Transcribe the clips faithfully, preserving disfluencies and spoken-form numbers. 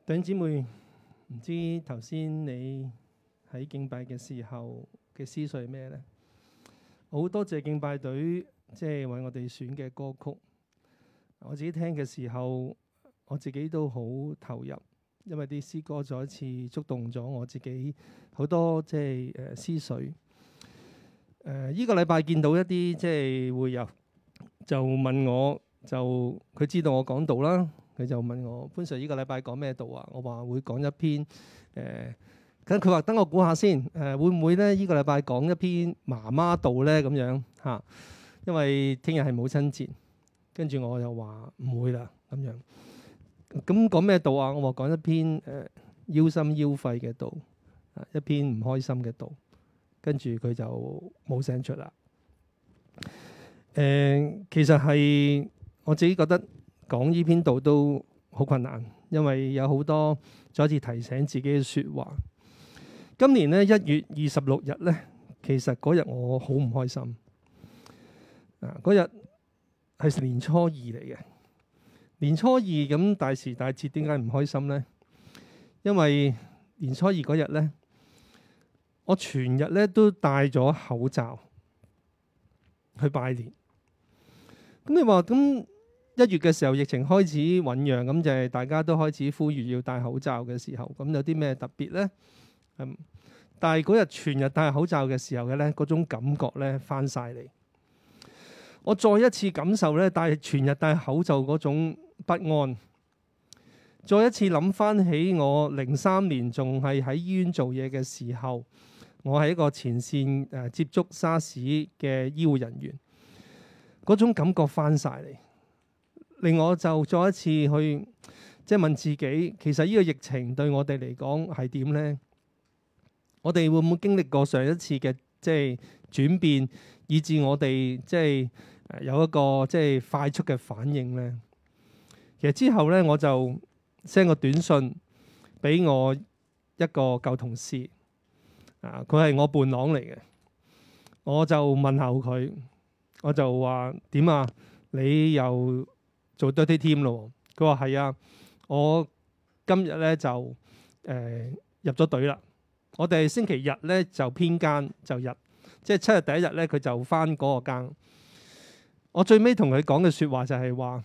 弟兄姊妹，唔知頭先你喺敬拜嘅時候嘅思緒係咩呢？我好多謝敬拜隊，即係為我哋選嘅歌曲。我自己聽嘅時候，我自己都好投入，因為啲詩歌再一次觸動咗我自己好多即係誒思緒。誒、呃，依、這個禮拜見到一啲即係會友就問我，就佢知道我講道啦。佢就問我潘 Sir 呢個禮拜講咩道啊？我話會講一篇誒，咁佢話等我估下先誒、呃，會唔會咧？呢、這個禮拜講一篇媽媽道咧咁樣嚇、啊？因為聽日係母親節，跟住我又話唔會啦咁樣。咁講咩道啊？我話講一篇誒、呃、腰心腰肺嘅道，啊一篇唔開心嘅道。跟住佢就冇聲出啦。誒、呃，其實係我自己覺得。講呢篇道都好困難，因為有好多再一次提醒自己嘅説話。今年咧一月二十六日咧，其實嗰日我好唔開心。啊，嗰日係年初二嚟嘅，年初二咁大時大節，點解唔開心咧？因為年初二嗰日咧，我全日咧都戴咗口罩去拜年。咁你話咁？一月嘅時候，疫情開始醖釀，咁就係大家都開始呼籲要戴口罩嘅時候，咁有啲咩特別呢？嗯，但係嗰日全日戴口罩嘅時候嘅咧，嗰種感覺咧翻晒嚟。我再一次感受咧，戴全日戴口罩嗰種不安。再一次諗翻起我零三年仲係喺醫院做嘢嘅時候，我係一個前線誒接觸沙士嘅醫護人員，嗰種感覺翻晒嚟。令我就再一次去即係問自己，其實呢個疫情對我哋嚟講係點呢？我哋會唔會經歷過上一次嘅即係轉變，以致我哋即係有一個即係快速嘅反應呢？其實之後咧，我就 send 個短信俾我一個舊同事，啊，佢係我伴郎嚟嘅，我就問候佢，我就話點啊？你又做 dirty team 咯？佢話係啊，我今日咧就誒、呃、入咗隊啦。我哋星期日咧就編更就入，即係七日第一日咧佢就返嗰個更。我最尾同佢講嘅説話就係話：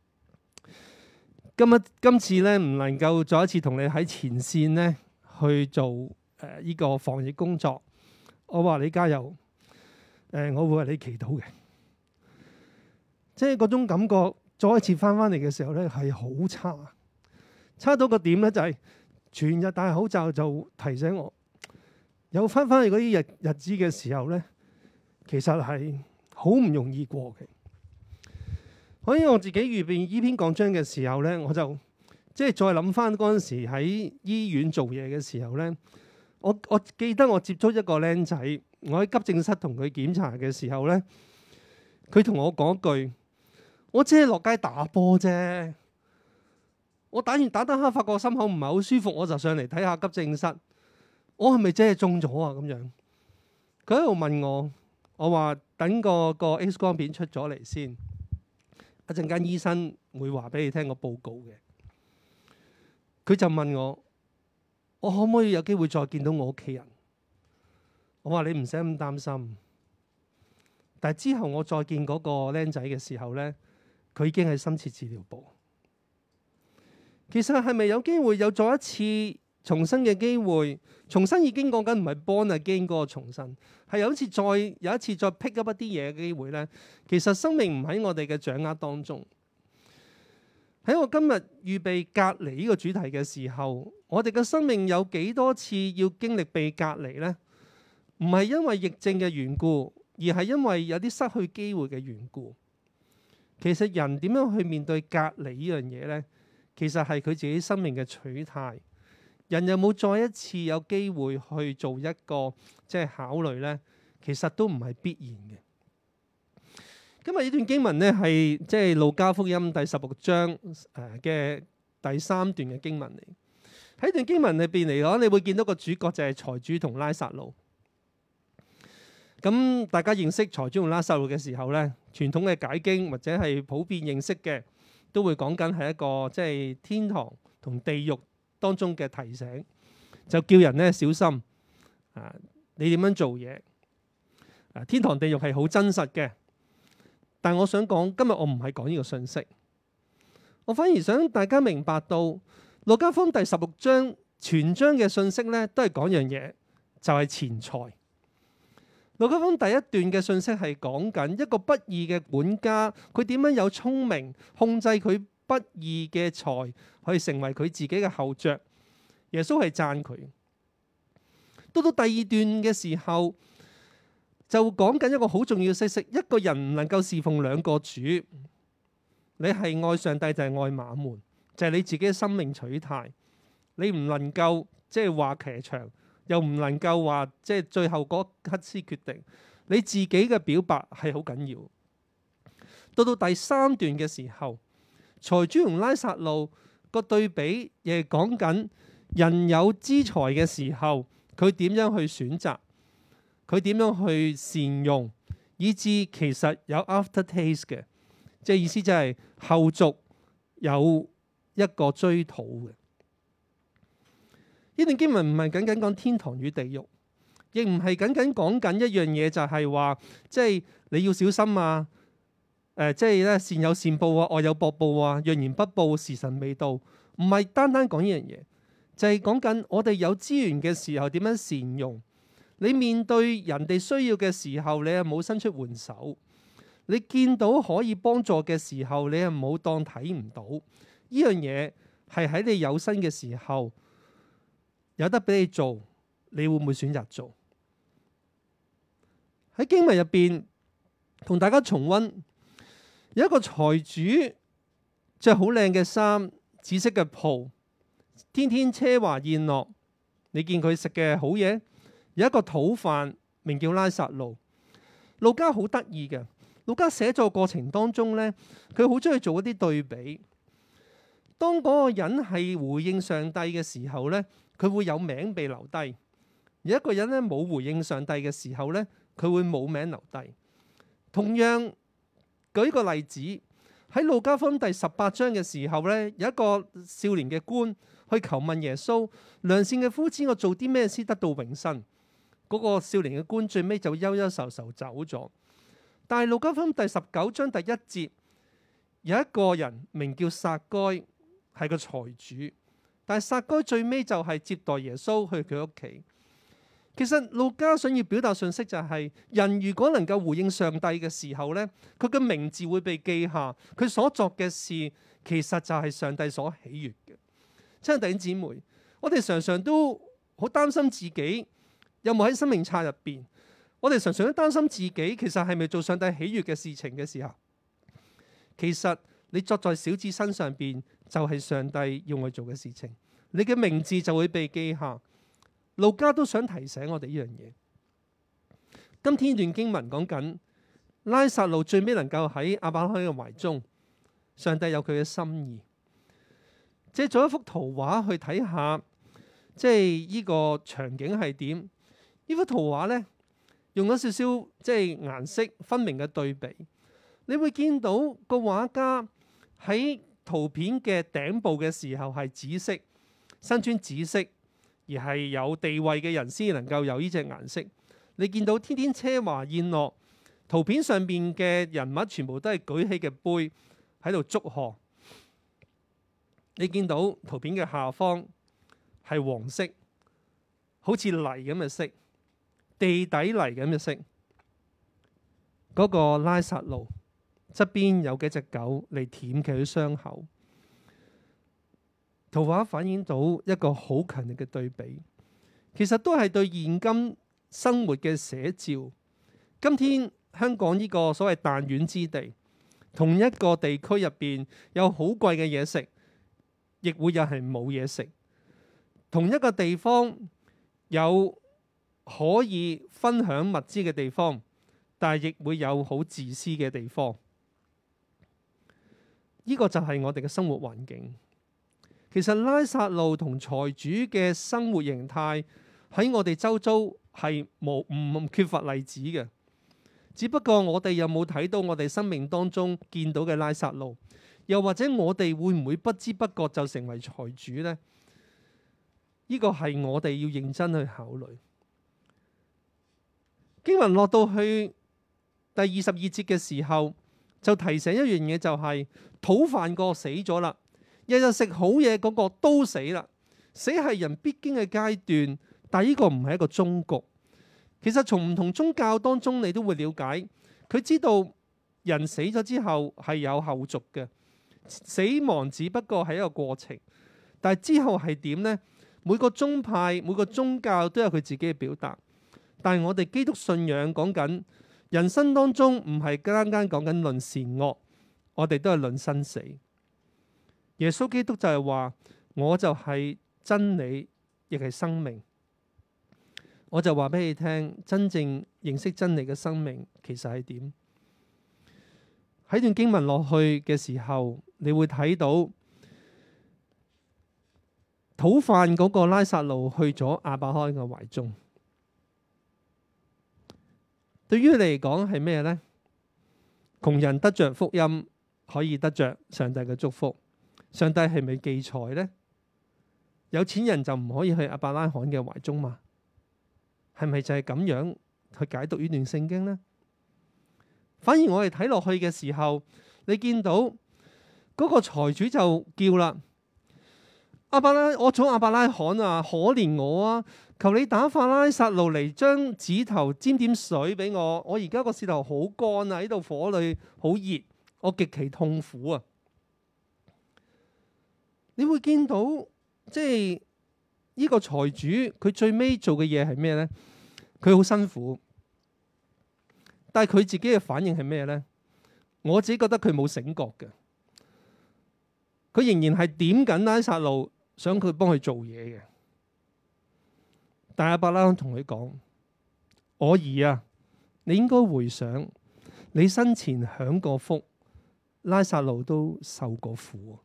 今日今次咧唔能夠再一次同你喺前線咧去做誒依、呃這個防疫工作。我話你加油，誒、呃、我會為你祈禱嘅。即係嗰種感覺。再一次翻翻嚟嘅時候咧，係好差，差到個點咧就係全日戴口罩就提醒我，有翻翻嚟嗰啲日日子嘅時候咧，其實係好唔容易過嘅。所以我自己預備呢篇講章嘅時候咧，我就即係再諗翻嗰陣時喺醫院做嘢嘅時候咧，我我記得我接觸一個僆仔，我喺急症室同佢檢查嘅時候咧，佢同我講句。我只係落街打波啫，我打完打打下發覺心口唔係好舒服，我就上嚟睇下急症室。我係咪真係中咗啊？咁樣佢喺度問我，我話等個個 X 光片出咗嚟先，一陣間醫生會話俾你聽個報告嘅。佢就問我，我可唔可以有機會再見到我屋企人？我話你唔使咁擔心。但係之後我再見嗰個僆仔嘅時候咧。佢已經喺深切治療部。其實係咪有機會有再一次重新嘅機會？重新已經講緊唔係 born again 嗰個重新，係有一次再有一次再 pick up 一啲嘢嘅機會咧。其實生命唔喺我哋嘅掌握當中。喺我今日預備隔離呢個主題嘅時候，我哋嘅生命有幾多次要經歷被隔離咧？唔係因為疫症嘅緣故，而係因為有啲失去機會嘅緣故。其實人點樣去面對隔離呢樣嘢呢？其實係佢自己生命嘅取態。人有冇再一次有機會去做一個即係考慮呢？其實都唔係必然嘅。今日呢段經文呢，係即係路加福音第十六章誒嘅第三段嘅經文嚟。喺段經文裏邊嚟講，你會見到個主角就係財主同拉撒路。咁大家認識財主同拉撒路嘅時候咧，傳統嘅解經或者係普遍認識嘅，都會講緊係一個即係天堂同地獄當中嘅提醒，就叫人咧小心啊！你點樣做嘢啊？天堂地獄係好真實嘅，但我想講今日我唔係講呢個信息，我反而想大家明白到路加福音第十六章全章嘅信息咧，都係講樣嘢，就係錢財。路加福音第一段嘅信息係講緊一個不義嘅管家，佢點樣有聰明控制佢不義嘅財，去成為佢自己嘅後著。耶穌係讚佢。到到第二段嘅時候，就講緊一個好重要嘅信息：一個人唔能夠侍奉兩個主。你係愛上帝就係愛馬門，就係你自己嘅生命取態。你唔能夠即係話騎牆。又唔能夠話即係最後嗰刻先決定，你自己嘅表白係好緊要。到到第三段嘅時候，財主同拉撒路個對比，亦係講緊人有資財嘅時候，佢點樣去選擇，佢點樣去善用，以致其實有 after taste 嘅，即係意思就係後續有一個追討嘅。呢段經文唔係僅僅講天堂與地獄，亦唔係僅僅講緊一樣嘢，就係話即係你要小心啊！誒、呃，即係咧善有善報啊，惡有惡報啊，若然不報，時辰未到。唔係單單講呢樣嘢，就係講緊我哋有資源嘅時候點樣善用。你面對人哋需要嘅時候，你又冇伸出援手；你見到可以幫助嘅時候，你又冇當睇唔到。呢樣嘢係喺你有生嘅時候。有得俾你做，你會唔會選擇做？喺經文入邊，同大家重溫，有一個財主着好靚嘅衫，紫色嘅袍，天天奢華宴樂。你見佢食嘅好嘢。有一個討飯，名叫拉撒路。路加好得意嘅，路加寫作過程當中呢，佢好中意做一啲對比。當嗰個人係回應上帝嘅時候呢，佢會有名被留低；而一個人咧冇回應上帝嘅時候咧，佢會冇名留低。同樣舉個例子，喺路加福音第十八章嘅時候咧，有一個少年嘅官去求問耶穌：良善嘅夫子，我做啲咩先得到永生？嗰、那個少年嘅官最尾就憂憂愁愁走咗。但係路加福音第十九章第一節有一個人名叫撒該，係個財主。但係撒該最尾就係接待耶穌去佢屋企。其實路加想要表達信息就係、是，人如果能夠回應上帝嘅時候呢，佢嘅名字會被記下，佢所作嘅事其實就係上帝所喜悅嘅。親愛弟兄姊妹，我哋常常都好擔心自己有冇喺生命冊入邊，我哋常常都擔心自己其實係咪做上帝喜悅嘅事情嘅時候，其實你作在小子身上邊，就係上帝要我做嘅事情，你嘅名字就會被記下。路加都想提醒我哋呢樣嘢。今天段經文講緊拉撒路最尾能夠喺亞伯拉罕嘅懷中，上帝有佢嘅心意。借咗一幅圖畫去睇下，即係呢個場景係點？呢幅圖畫呢，用咗少少即係顏色分明嘅對比，你會見到個畫家喺圖片嘅頂部嘅時候係紫色，身穿紫色，而係有地位嘅人先能夠有呢隻顏色。你見到天天奢華宴樂，圖片上邊嘅人物全部都係舉起嘅杯喺度祝賀。你見到圖片嘅下方係黃色，好似泥咁嘅色，地底泥咁嘅色。嗰、那個拉撒路側邊有幾隻狗嚟舔佢嘅傷口。圖畫反映到一個好強烈嘅對比，其實都係對現今生活嘅寫照。今天香港呢個所謂彈丸之地，同一個地區入邊有好貴嘅嘢食，亦會有係冇嘢食。同一個地方有可以分享物資嘅地方，但係亦會有好自私嘅地方。呢個就係我哋嘅生活環境。其實拉撒路同財主嘅生活形態喺我哋周遭係冇唔缺乏例子嘅，只不過我哋有冇睇到我哋生命當中見到嘅拉撒路，又或者我哋會唔會不知不覺就成為財主呢？ 呢個係我哋要認真去考慮。經文落到去第二十二節嘅時候，就提醒一樣嘢，就係討飯個死咗啦，日日食好嘢嗰個都死啦。死係人必經嘅階段，但係呢個唔係一個終局。其實從唔同宗教當中，你都會了解，佢知道人死咗之後係有後續嘅，死亡只不過係一個過程，但係之後係點呢？每個宗派、每個宗教都有佢自己嘅表達。但係我哋基督信仰講緊人生當中唔係單單講緊論善惡，我哋都係論生死。耶穌基督就係話，我就係真理，亦係生命。我就話俾你聽，真正認識真理嘅生命其實係點？喺段經文落去嘅時候，你會睇到討飯嗰個拉撒路去咗亞伯拉罕嘅懷中。對於你嚟講係咩呢？窮人得着福音，可以得着上帝嘅祝福。上帝係咪忌財呢？有錢人就唔可以去亞伯拉罕嘅懷中嘛？係咪就係咁樣去解讀呢段聖經呢？反而我哋睇落去嘅時候，你見到嗰個財主就叫啦：亞伯拉，我祖亞伯拉罕啊，可憐我啊！求你打發拉撒路嚟，將指頭沾點水俾我。我而家個舌頭好乾啊，喺度火裏好熱，我極其痛苦啊！你會見到即係呢個財主，佢最尾做嘅嘢係咩呢？佢好辛苦，但係佢自己嘅反應係咩呢？我自己覺得佢冇醒覺嘅，佢仍然係點緊拉撒路，想佢幫佢做嘢嘅。但亞伯拉罕同佢講：我兒啊，你應該回想你生前享過福，拉撒路都受過苦。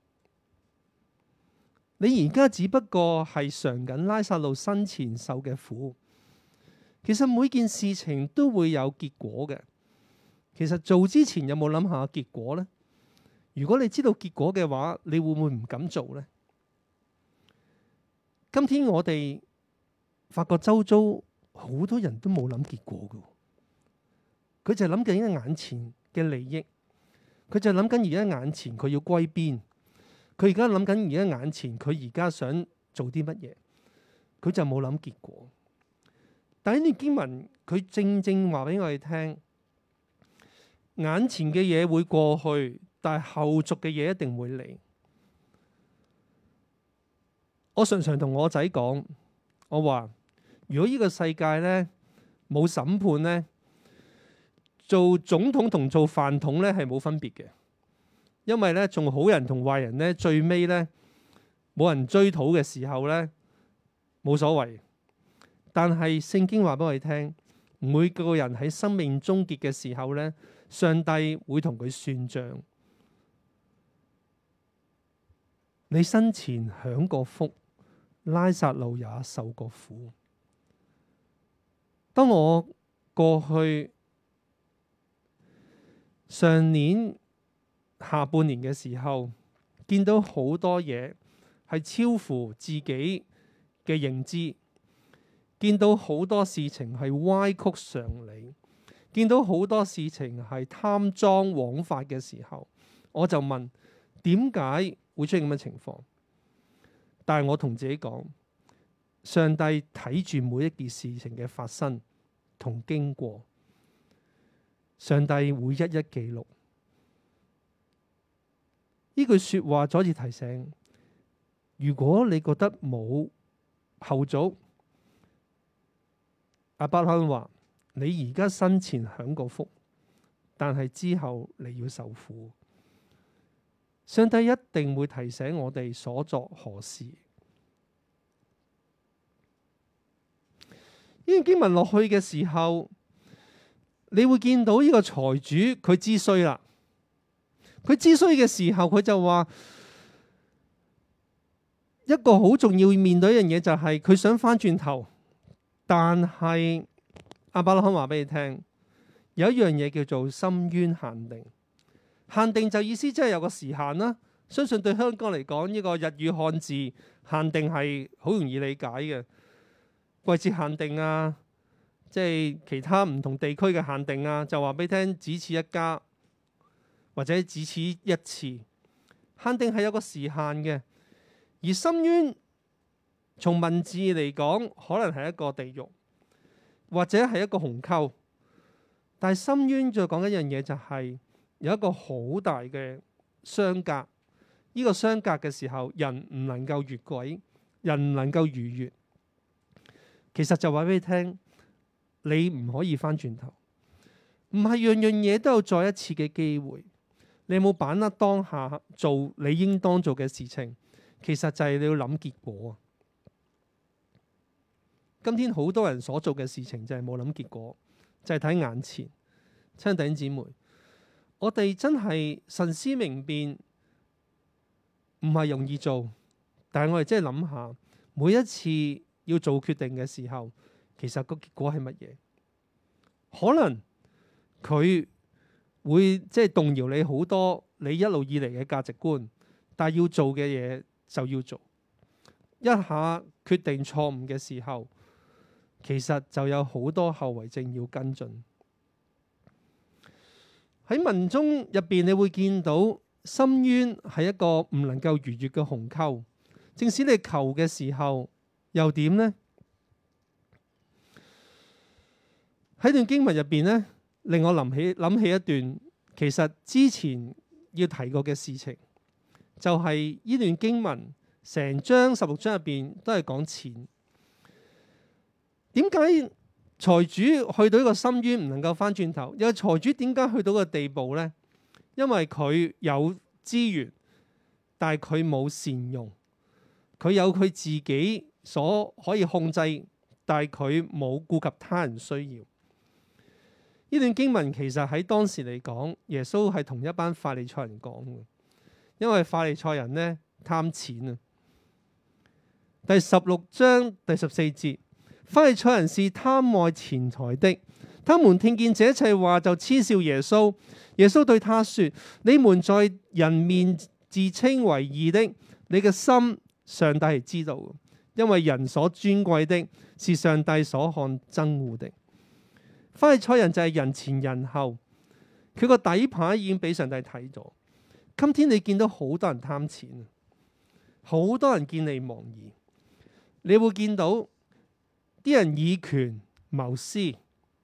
你而家只不過係嘗緊拉撒路生前受嘅苦。其實每件事情都會有結果嘅。其實做之前有冇諗下結果呢？如果你知道結果嘅話，你會唔會唔敢做呢？今天我哋發覺周遭好多人都冇諗結果嘅，佢就係諗緊眼前嘅利益，佢就諗緊而家眼前佢要歸邊，佢而家諗緊而家眼前佢而家想做啲乜嘢，佢就冇諗結果。但係呢段經文佢正正話俾我哋聽，眼前嘅嘢會過去，但係後續嘅嘢一定會嚟。我常常同我仔講，我話如果呢個世界呢冇審判呢，做總統同做飯桶呢係冇分別嘅，因為呢仲好人同壞人呢，最尾呢冇人追討嘅時候呢冇所謂。但係聖經話俾我哋聽，每個人喺生命終結嘅時候呢，上帝會同佢算賬。你生前享過福，拉撒路也受過苦。當我過去上年下半年嘅時候，見到好多嘢係超乎自己嘅認知，見到好多事情係歪曲常理，見到好多事情係貪贓枉法嘅時候，我就問點解會出現咁嘅情況？但係我同自己講，上帝睇住每一件事情嘅發生同經過，上帝會一一記錄。呢句說話再次提醒，如果你覺得冇後續，亞伯拉罕話：你而家生前享過福，但係之後你要受苦。上帝一定會提醒我哋所作何事。呢段經文落去嘅時候，你會見到呢個財主佢知衰啦。佢知衰嘅時候，佢就話一個好重要面對一樣嘢，就係佢想翻轉頭，但係亞伯拉罕話俾你聽，有一樣嘢叫做深淵限定。限定就意思即係有個時限啦， 相信對香港嚟講，呢個日語漢字限定係好容易理解嘅，季節限定啊，即係其他唔同地區嘅限定啊，就話俾你聽，只此一家或者只此一次，限定係有個時限嘅。而深淵從文字嚟講，可能係一個地獄，或者係一個鴻溝。但係深淵再講一樣嘢，就係有一個好大嘅相隔。呢個相隔嘅時候，人唔能夠越軌，人唔能夠逾越。其實就話俾你聽，你唔可以翻轉頭，唔係樣樣嘢都有再一次嘅機會。你有冇把握當下做你應當做嘅事情？其實就係你要諗結果啊！今天好多人所做嘅事情就係冇諗結果，就係睇眼前。親愛弟兄姊妹，我哋真係神思明辨，唔係容易做，但係我哋真係諗下，每一次要做決定嘅時候，其實個結果係乜嘢？可能佢會即係動搖你好多你一路以嚟嘅價值觀，但係要做嘅嘢就要做。一下決定錯誤嘅時候，其實就有好多後遺症要跟進。喺文中入邊，你會見到深淵係一個唔能夠逾越嘅鴻溝，正使你求嘅時候又點呢？喺段經文入邊呢，令我諗起諗起一段其實之前要提過嘅事情，就係呢段經文成章十六章入邊都係講錢。點解財主去到一個深淵唔能夠翻轉頭？因為財主點解去到個地步呢？因為佢有資源，但係佢冇善用。佢有佢自己所可以控制，但係佢冇顧及他人需要。呢段經文其實喺當時嚟講，耶穌係同一班法利賽人講嘅，因為法利賽人呢貪錢啊。第十六章第十四節。法利賽人是貪愛錢財的，他們聽見這一切話就嗤笑耶穌。耶穌對他說：你們在人面自稱為義的，你嘅心上帝係知道嘅，因為人所尊貴的是上帝所看憎惡的。法利賽人就係人前人後，佢個底牌已經俾上帝睇咗。今天你見到好多人貪錢，好多人見利忘義，你會見到啲人以權謀私，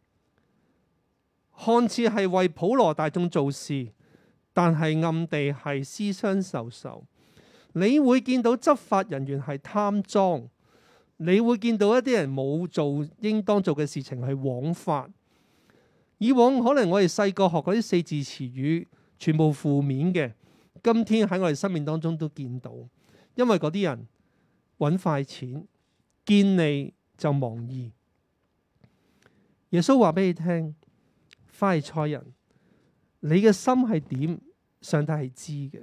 看似係為普羅大眾做事，但係暗地係私相授受。你會見到執法人員係貪贓，你會見到一啲人冇做應當做嘅事情係枉法。以往可能我哋細個學嗰啲四字詞語全部負面嘅，今天喺我哋生命當中都見到，因為嗰啲人揾快錢，見利就忘義。耶穌話俾你聽，法利賽人，你嘅心係點？上帝係知嘅。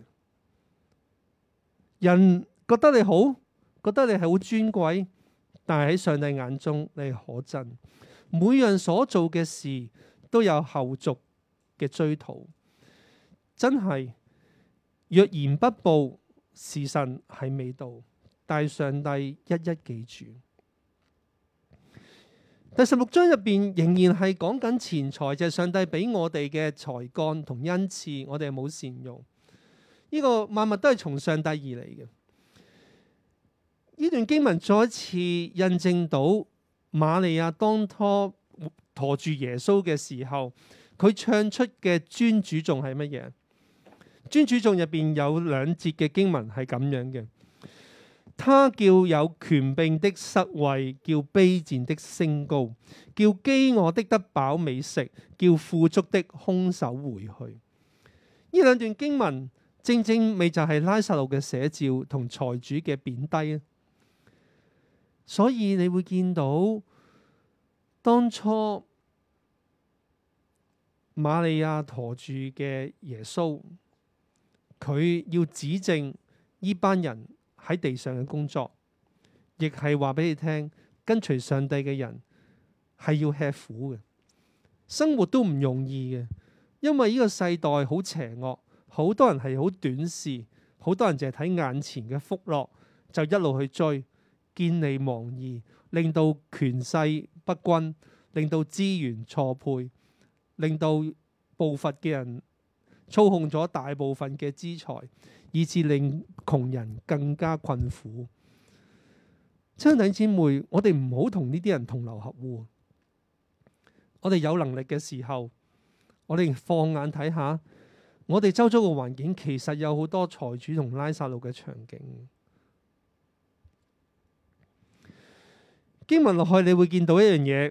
人覺得你好，覺得你係好尊貴，但係喺上帝眼中你係可憎。每樣所做嘅事都有後續嘅追討，真係若然不報，時辰係未到，但係上帝一一記住。第十六章入邊仍然係講緊錢財，就係上帝俾我哋嘅才幹同恩賜，我哋係冇善用。呢個萬物都係從上帝而嚟嘅。呢段經文再一次印證到瑪利亞當初馱住耶穌嘅時候，佢唱出嘅尊主頌係乜嘢？尊主頌入邊有兩節嘅經文係咁樣嘅。他叫有權柄的失位，叫卑賤的升高，叫飢餓的得飽美食，叫富足的空手回去。呢兩段經文正正咪就係拉撒路嘅寫照同財主嘅貶低。所以你會見到當初瑪利亞馱住嘅耶穌，佢要指正呢班人喺地上嘅工作，亦係話俾你聽，跟隨上帝嘅人係要吃苦嘅，生活都唔容易嘅，因為呢個世代好邪惡，好多人係好短視， 好多人淨係睇眼前嘅福樂，就一路去追，見利忘義，令到權勢不均，令到資源錯配，令到步伐嘅人操控咗大部分嘅資財，以致令窮人更加困苦。親愛弟兄姊妹，我哋唔好同呢啲人同流合污。我哋有能力嘅時候，我哋放眼睇下，我哋周遭嘅環境其實有好多財主同拉撒路嘅場景。經文落去你會見到一樣嘢，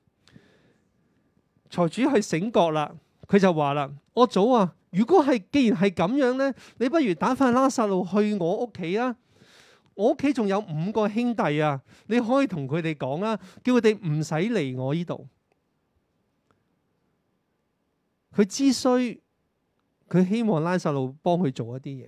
財主係醒覺啦，佢就話啦：我祖啊，如果係既然係咁樣呢，你不如打發拉撒路去我屋企啊！我屋企仲有五個兄弟啊，你可以同佢哋講啦，叫佢哋唔使嚟我呢度。佢之需，佢希望拉撒路幫佢做一啲嘢，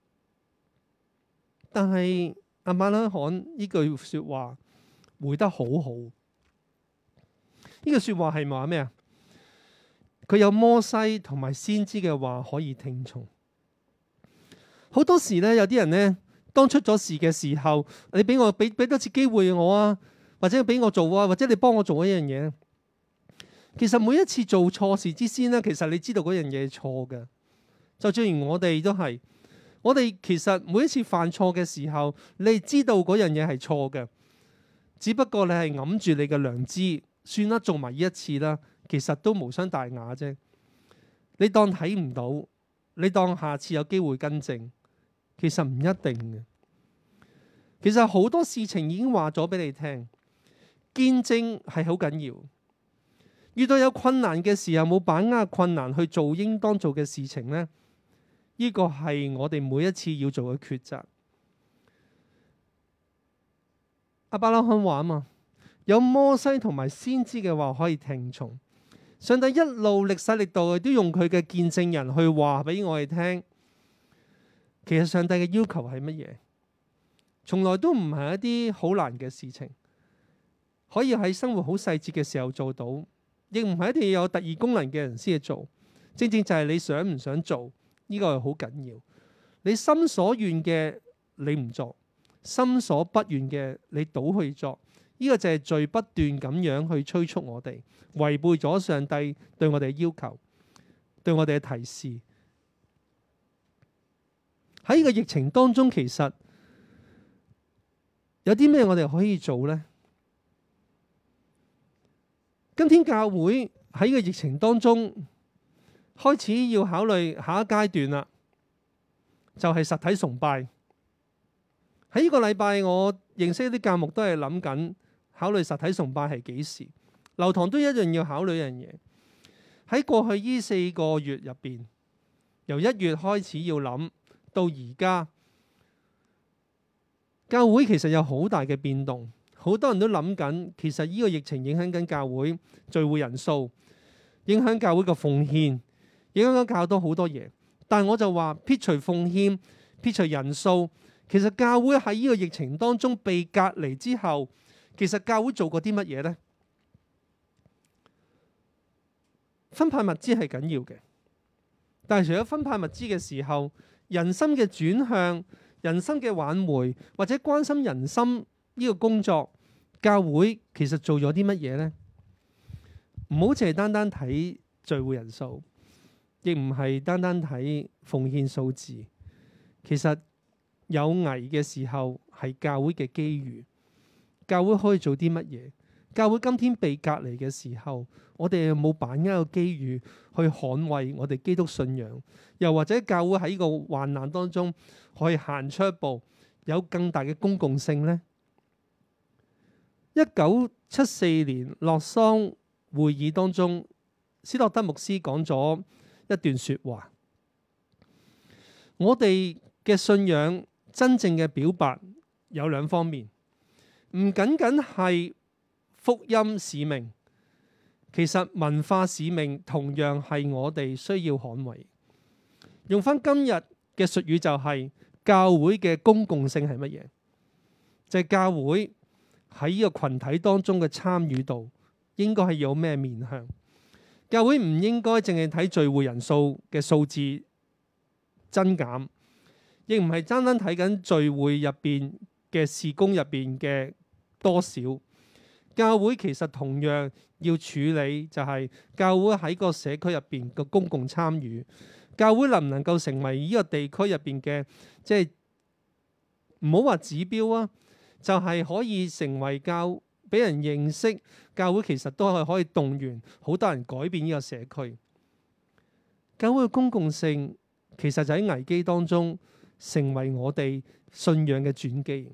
但係亞伯拉罕呢句說話回得好好。呢句說話係話咩啊？佢有摩西同埋先知嘅話可以聽從。好多時咧，有啲人咧，當出咗事嘅時候，你俾我俾俾多次機會我啊，或者俾我做啊，或者你幫我做一樣嘢。其實每一次做錯事之先呢，其實你知道嗰樣嘢係錯嘅。就正如我哋都係，我哋其實每一次犯錯嘅時候，你知道嗰樣嘢係錯嘅，只不過你係揞住你嘅良知，算啦，做埋呢一次啦，其實都無傷大雅啫。你當睇唔到，你當下次有機會更正，其實唔一定嘅。其實好多事情已經話咗俾你聽，見證係好緊要。遇到有困難嘅時候，冇把握困難去做應當做嘅事情呢，呢個係我哋每一次要做嘅抉擇。亞伯拉罕話啊嘛，有摩西同埋先知嘅話可以聽從。上帝一路歷世歷代都用佢嘅見證人去話俾我哋聽。其實上帝嘅要求係乜嘢？從來都唔係一啲好難嘅事情，可以喺生活好細節嘅時候做到。亦唔係一定要有特異功能嘅人先去做，正正就係你想唔想做，呢個係好緊要。你心所願嘅你唔做，心所不願嘅你倒去做，呢個就係罪不斷咁樣去催促我哋，違背咗上帝對我哋嘅要求，對我哋嘅提示。喺呢個疫情當中，其實有啲咩我哋可以做呢？今天教會喺呢個疫情當中開始要考慮下一階段啦，就係實體崇拜。喺呢個禮拜，我認識一啲教牧都係諗緊考慮實體崇拜係幾時。流堂都一樣要考慮一樣嘢。喺過去呢四個月入邊，由一月開始要諗到而家，教會其實有好大嘅變動。好多人都諗緊，其實呢個疫情影響緊教會聚會人數，影響教會嘅奉獻，影響緊教多好多嘢。但係我就話撇除奉獻，撇除人數，其實教會喺呢個疫情當中被隔離之後，其實教會做過啲乜嘢呢？分派物資係緊要嘅，但係除咗分派物資嘅時候，人心嘅轉向、人心嘅挽回或者關心人心。呢個工作，教會其實做咗啲乜嘢呢？唔好淨係單單睇聚會人數，亦唔係單單睇奉獻數字。其實有危嘅時候係教會嘅機遇，教會可以做啲乜嘢？教會今天被隔離嘅時候，我哋有冇把握個機遇去捍衛我哋基督信仰？又或者教會喺呢個患難當中可以行出一步，有更大嘅公共性呢？一九七四年洛桑會議當中，斯諾德牧師講咗一段說話。我哋嘅信仰真正嘅表白有兩方面，唔僅僅係福音使命，其實文化使命同樣係我哋需要捍衛。用翻今日嘅術語就係教會嘅公共性係乜嘢？就係教會喺呢個群體當中嘅參與度應該係有咩面向？教會唔應該淨係睇聚會人數嘅數字增減， 亦唔係單單睇緊聚會入邊嘅事工入邊嘅多少。教會其實同樣要處理，就係教會喺個社區入邊嘅公共參與。教會能唔能夠成為呢個地區入邊嘅，即係唔好話指標啊，就係可以成為教俾人認識教會，其實都係可以動員好多人改變呢個社區。教會嘅公共性其實就喺危機當中成為我哋信仰嘅轉機。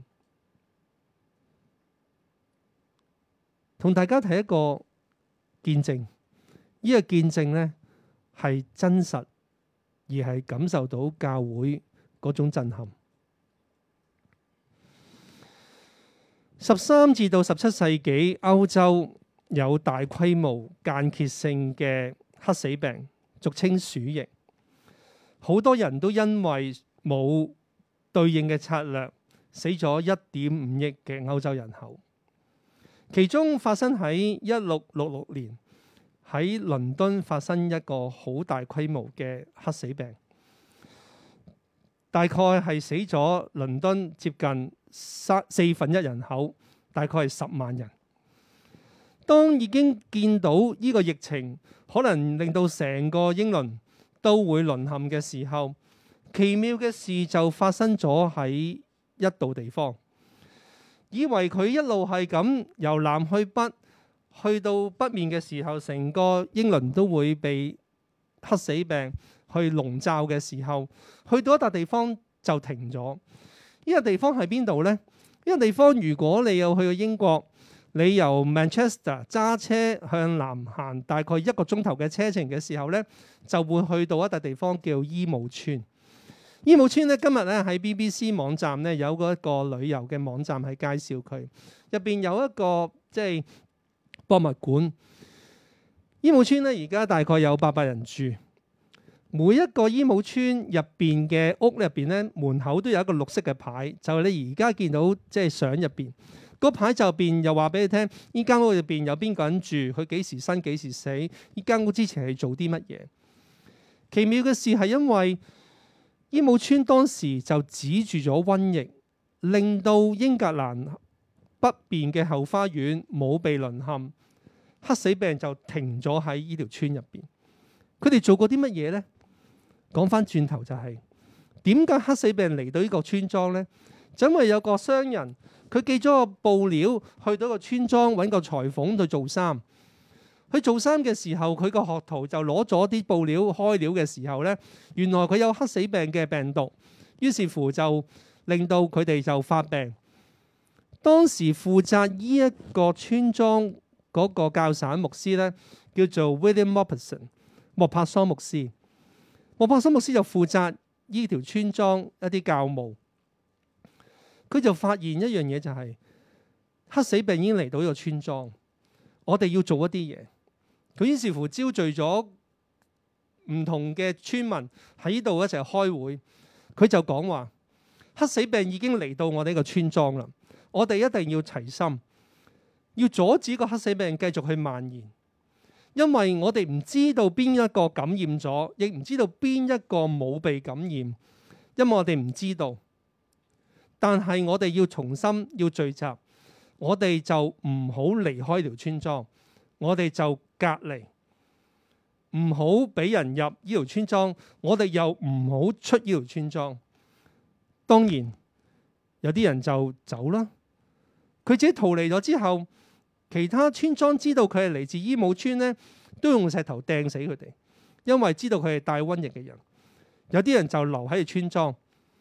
同大家睇一個見證，呢個見證呢係真實，而係感受到教會嗰種震撼。十三至到十七世紀，歐洲有大規模間歇性嘅黑死病，俗稱鼠疫。好多人都因為冇對應嘅策略，死咗一點五億嘅歐洲人口。其中發生喺一六六六年喺倫敦發生一個好大規模嘅黑死病，大概係死咗倫敦接近三四分一人口，大概係十萬人。當已經見到呢個疫情可能令到成個英倫都會淪陷嘅時候，奇妙嘅事就發生咗喺一度地方。以為佢一路係咁由南去北，去到北面嘅時候，成個英倫都會被黑死病去籠罩嘅時候，去到一笪地方就停咗。呢個地方喺邊度呢？呢個地方如果你有去過英國，你由 Manchester 揸車向南行大概一個鐘頭嘅車程嘅時候呢，就會去到一笪地方叫伊姆村。伊姆村咧，今日咧喺 B B C 網站咧有嗰一個旅遊嘅網站係介紹佢，入邊有一個即係博物館。伊姆村咧而家大概有八百人住，每一個伊姆村入邊嘅屋入邊咧門口都有一個綠色嘅牌，就係你而家見到即係相入邊嗰牌就邊又話俾你聽，呢間屋入邊有邊個人住，佢幾時生幾時死，呢間屋之前係做啲乜嘢。奇妙嘅事係因為伊姆村當時就止住咗瘟疫，令到英格蘭北邊嘅後花園冇被淪陷，黑死病就停咗喺呢條村入邊。佢哋做過啲乜嘢呢？講翻轉頭就係點解黑死病嚟到呢個村莊呢？就因為有個商人，佢寄咗個布料去到個村莊揾個裁縫去做衫。佢做衫嘅時候，佢個學徒就攞咗啲布料開料嘅時候呢，原來佢有黑死病嘅病毒，於是乎就令到佢哋就發病。當時負責呢一個村莊嗰個教省牧師呢，叫做 William Mopperson 莫帕桑牧師。莫帕桑牧師就負責呢條村莊一啲教務。佢就發現一樣嘢，就係黑死病已經嚟到呢個村莊，我哋要做一啲嘢。佢於是乎招聚咗唔同嘅村民喺呢度一齊開會。佢就講話：黑死病已經嚟到我哋呢個村莊啦，我哋一定要齊心，要阻止個黑死病繼續去蔓延。因為我哋唔知道邊一個感染咗，亦唔知道邊一個冇被感染，因為我哋唔知道。但係我哋要重新要聚集，我哋就唔好離開條村莊，我哋就隔離，唔好俾人入呢條村莊，我哋又唔好出呢條村莊。當然有啲人就走啦，佢自己逃離咗之後，其他村莊知道佢係嚟自伊姆村呢，都用石頭掟死佢哋，因為知道佢係帶瘟疫嘅人。有啲人就留喺條村莊。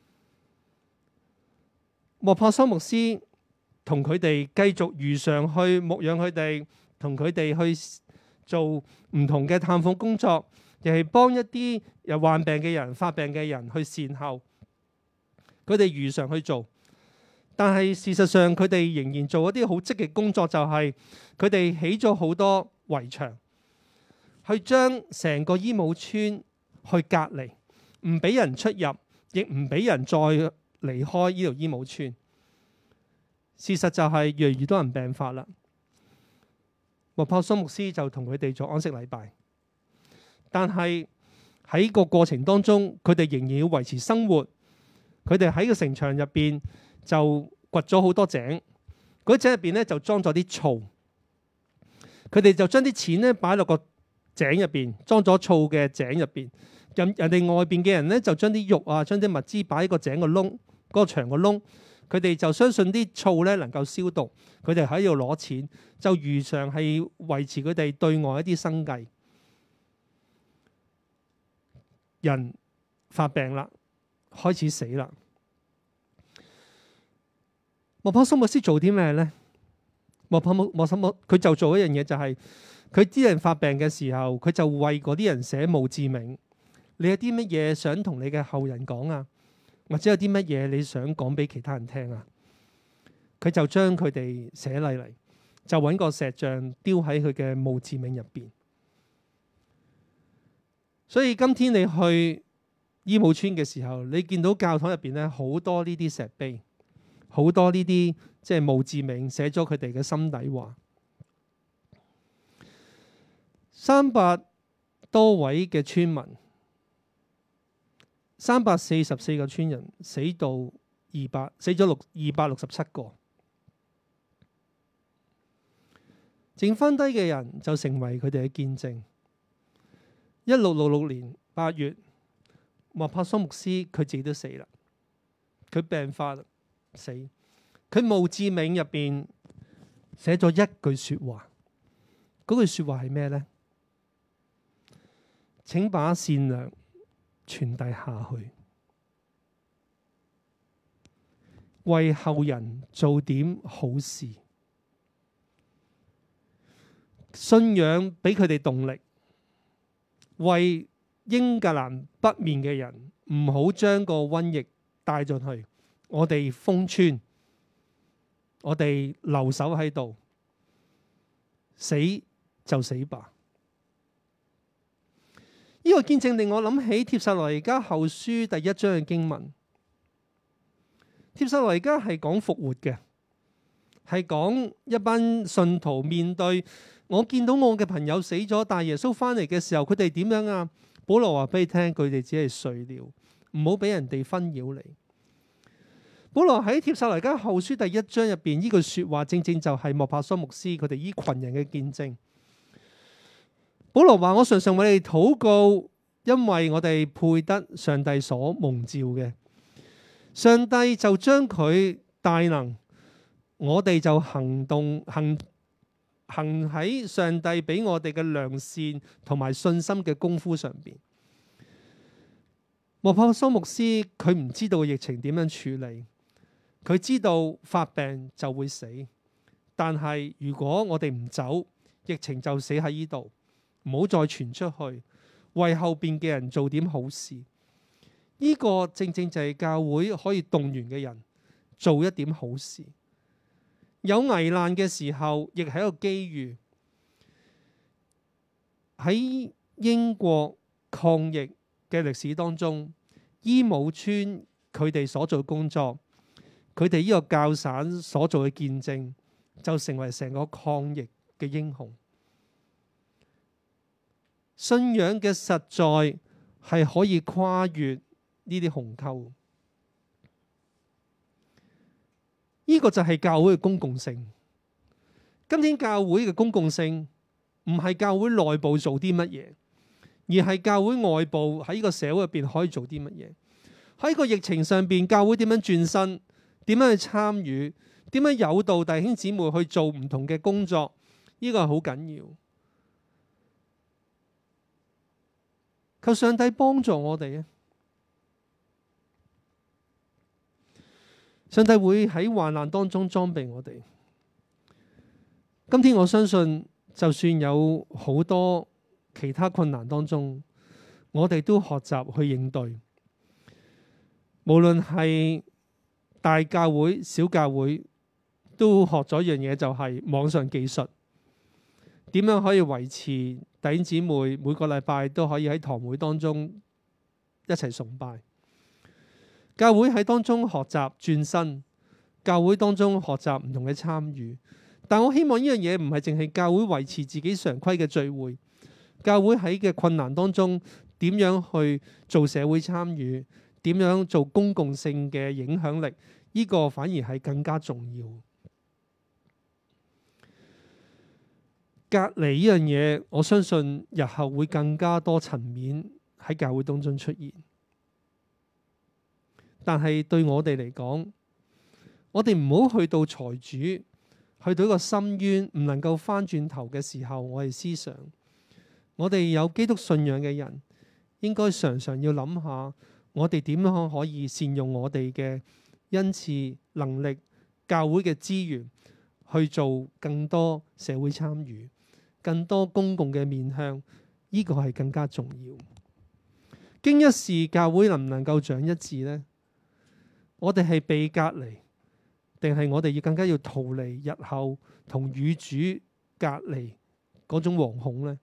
莫帕桑牧師同佢哋繼續如常去牧養佢哋，同佢哋去做唔同嘅探訪工作，亦係幫一啲有患病嘅人、發病嘅人去善後。佢哋如常去做，但係事實上佢哋仍然做一啲好積極工作，就係佢哋起咗好多圍牆，去將成個伊姆村去隔離，唔俾人出入，亦唔俾人再離開呢條伊姆村。事實就係越嚟越多人病發啦。莫帕桑牧師就同佢哋做安息禮拜，但係喺個過程當中，佢哋仍然要維持生活， 佢哋喺個城牆入邊就掘咗好多井，嗰啲井入邊咧就裝咗啲醋。佢哋就將啲錢咧擺落個井入邊，裝咗醋嘅井入邊。人人哋外邊嘅人咧就將啲肉啊，將啲物資擺喺個井個窿，嗰個牆個窿。佢哋就相信啲醋咧能夠消毒，佢哋喺度攞錢，就如常係維持佢哋對外一啲生計。人發病啦，開始死啦。莫泊桑牧師做啲咩咧？莫泊莫莫什莫，佢就做一樣嘢，就係佢啲人發病嘅時候，佢就為嗰啲人寫墓誌銘。你有啲乜嘢想同你嘅後人講啊？或者有啲乜嘢你想講俾其他人聽啊？佢就將佢哋寫嚟嚟，就揾個石像丟喺佢嘅墓誌銘入邊。所以今天你去醫務村嘅時候，你見到教堂入邊咧好多呢啲石碑，好多呢啲即係墓誌銘，寫咗佢哋嘅心底話。三百多位嘅村民。三百四十四個村人死到二百，死咗六二百六十七個，剩翻低嘅人就成為佢哋嘅見證。一六六六年八月，莫泊桑牧師佢自己都死啦，佢病發死。佢墓誌銘入邊寫咗一句說話，嗰句說話係咩呢？請把善良傳遞下去，為後人做點好事。信仰俾佢哋動力，為英格蘭北面嘅人唔好將個瘟疫帶進去。我哋封村，我哋留守喺度，死就死吧。呢個見證令我諗起帖撒羅尼迦後書第一章嘅經文。帖撒羅尼迦係講復活嘅，係講一班信徒面對我見到我嘅朋友死咗，但耶穌翻嚟嘅時候，佢哋點樣啊？保羅話俾你聽，佢哋只係睡了，唔好俾人哋紛擾你。保羅喺帖撒羅尼迦後書第一章入邊呢句說話，正正就係莫泊桑牧師佢哋呢群人嘅見證。保羅話：我常常為你哋禱告，因為我哋配得上帝所蒙召嘅。上帝就將佢大能，我哋就行動行行喺上帝俾我哋嘅良善同埋信心嘅功夫上邊。莫泊桑牧師佢唔知道疫情點樣處理，佢知道發病就會死，但係如果我哋唔走，疫情就死喺呢度。唔好再傳出去，為後邊嘅人做點好事。呢個正正就係教會可以動員嘅人做一點好事。有危難嘅時候，亦係一個機遇。喺英國抗疫嘅歷史當中，醫務村佢哋所做工作，佢哋呢個教省所做嘅見證，就成為成個抗疫嘅英雄。信仰嘅實在係可以跨越呢啲鴻溝，呢個就係教會嘅公共性。今天教會嘅公共性唔係教會內部做啲乜嘢，而係教會外部喺呢個社會入邊可以做啲乜嘢。喺個疫情上邊，教會點樣轉身，點樣去參與，點樣誘導弟兄姊妹去做唔同嘅工作，呢個係好緊要。求上帝幫助我哋啊！上帝會喺患難當中裝備我哋。今天我相信，就算有好多其他困難當中，我哋都學習去應對。無論係大教會、小教會，都學咗一樣嘢，就係網上技術，點樣可以維持弟兄姊妹每個禮拜都可以喺堂會當中一齊崇拜。教會喺當中學習轉身，教會當中學習唔同嘅參與。但我希望呢樣嘢唔係淨係教會維持自己常規嘅聚會，教會喺嘅困難當中點樣去做社會參與， 點樣做公共性嘅影響力，呢個反而係更加重要。隔離呢樣嘢，我相信日後會更加多層面喺教會當中出現。但係對我哋嚟講，我哋唔好去到財主，去到一個深淵唔能夠翻轉頭嘅時候，我哋思想，我哋有基督信仰嘅人，應該常常要諗下，我哋點樣可以善用我哋嘅恩賜、能力、教會嘅資源，去做更多社會參與、更多公共嘅面向，呢個係更加重要。經一事，教會能唔能夠長一智呢？我哋係被隔離，定係我哋要更加要逃離日後同與主隔離嗰種惶恐呢？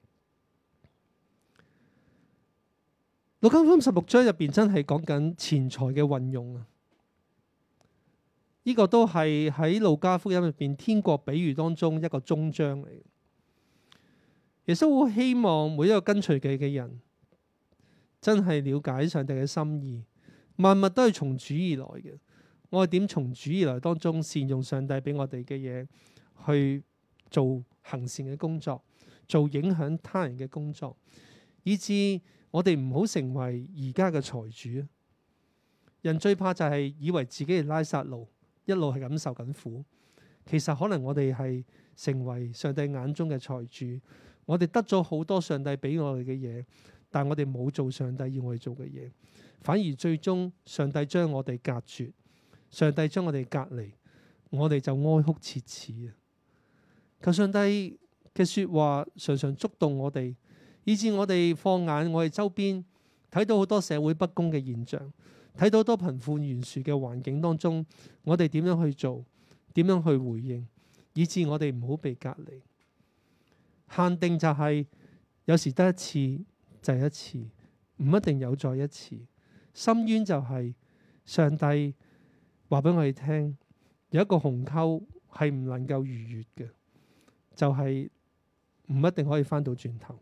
路加福音十六章入邊真係講緊錢財嘅運用啊！呢個都係喺路加福音入邊天國比喻當中一個終章嚟。耶穌好希望每一個跟隨佢嘅人真係了解上帝嘅心意。萬物都係從主而來嘅，我哋點從主而來當中善用上帝俾我哋嘅嘢，去做行善嘅工作，做影響他人嘅工作，以致我哋唔好成為而家嘅財主。人最怕就係以為自己係拉撒路，一路係咁受緊苦。其實可能我哋係成為上帝眼中嘅財主，我哋得咗好多上帝俾我哋嘅嘢，但我哋冇做上帝要我哋做嘅嘢。反而最終上帝將我哋隔絕，上帝將我哋隔離，我哋就哀哭切齒啊！求上帝嘅說話常常觸動我哋，以致我哋放眼我哋周邊，睇到好多社會不公嘅現象，睇到好多貧富懸殊嘅環境當中，我哋點樣去做，點樣去回應，以致我哋唔好被隔離。限定就係有時得一次就係一次，唔一定有再一次。深淵就係上帝話俾我哋聽，有一個鴻溝係唔能夠逾越嘅，就係唔一定可以翻到轉頭。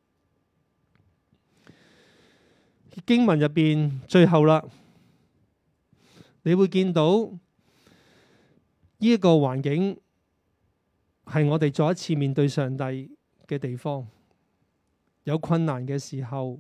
經文入邊最後啦，你會見到呢一個環境係我哋再一次面對上帝嘅地方，有困難嘅時候，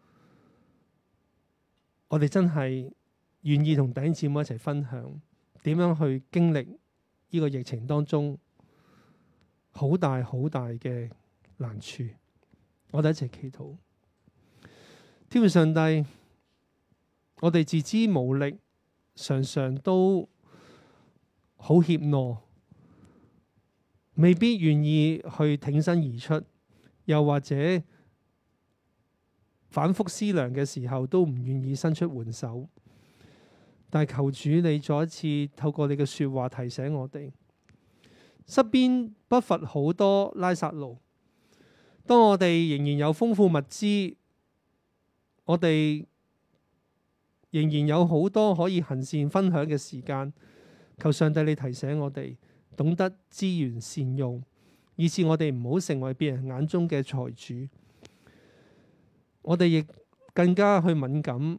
我哋真係願意同弟兄姊妹一齊分享點樣去經歷呢個疫情當中好大好大嘅難處。我哋一齊祈禱。天父上帝，我哋自知無力，常常都好怯懦，未必願意去挺身而出，又或者反覆思量嘅時候都唔願意伸出援手。但求主你再一次透過你嘅說話提醒我哋，身邊不乏好多拉撒路。當我哋仍然有豐富物資，我哋仍然有好多可以行善分享嘅時間，求上帝你提醒我哋懂得資源善用，以致我哋唔好成為別人眼中嘅財主。我哋亦更加去敏感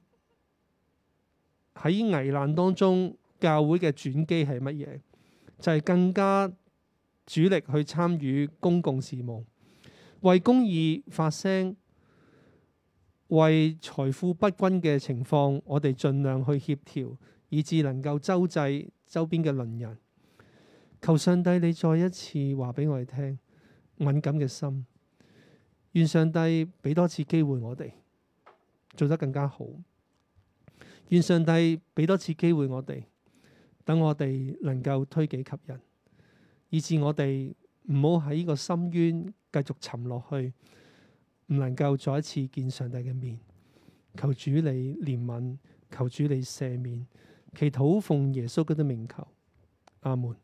喺危難當中，教會嘅轉機係乜嘢？就係更加主力去參與公共事務，為公義發聲，為財富不均嘅情況，我哋盡量去協調，以致能夠周濟周邊嘅鄰人。求上帝你再一次話俾我哋聽，敏感嘅心。願上帝俾多次機會我哋做得更加好。願上帝俾多次機會我哋，等我哋能夠推己及人，以致我哋唔好喺呢個深淵繼續沉落去，唔能夠再一次見上帝嘅面。求主你憐憫，求主你赦免，祈禱奉耶穌基督名求，阿門。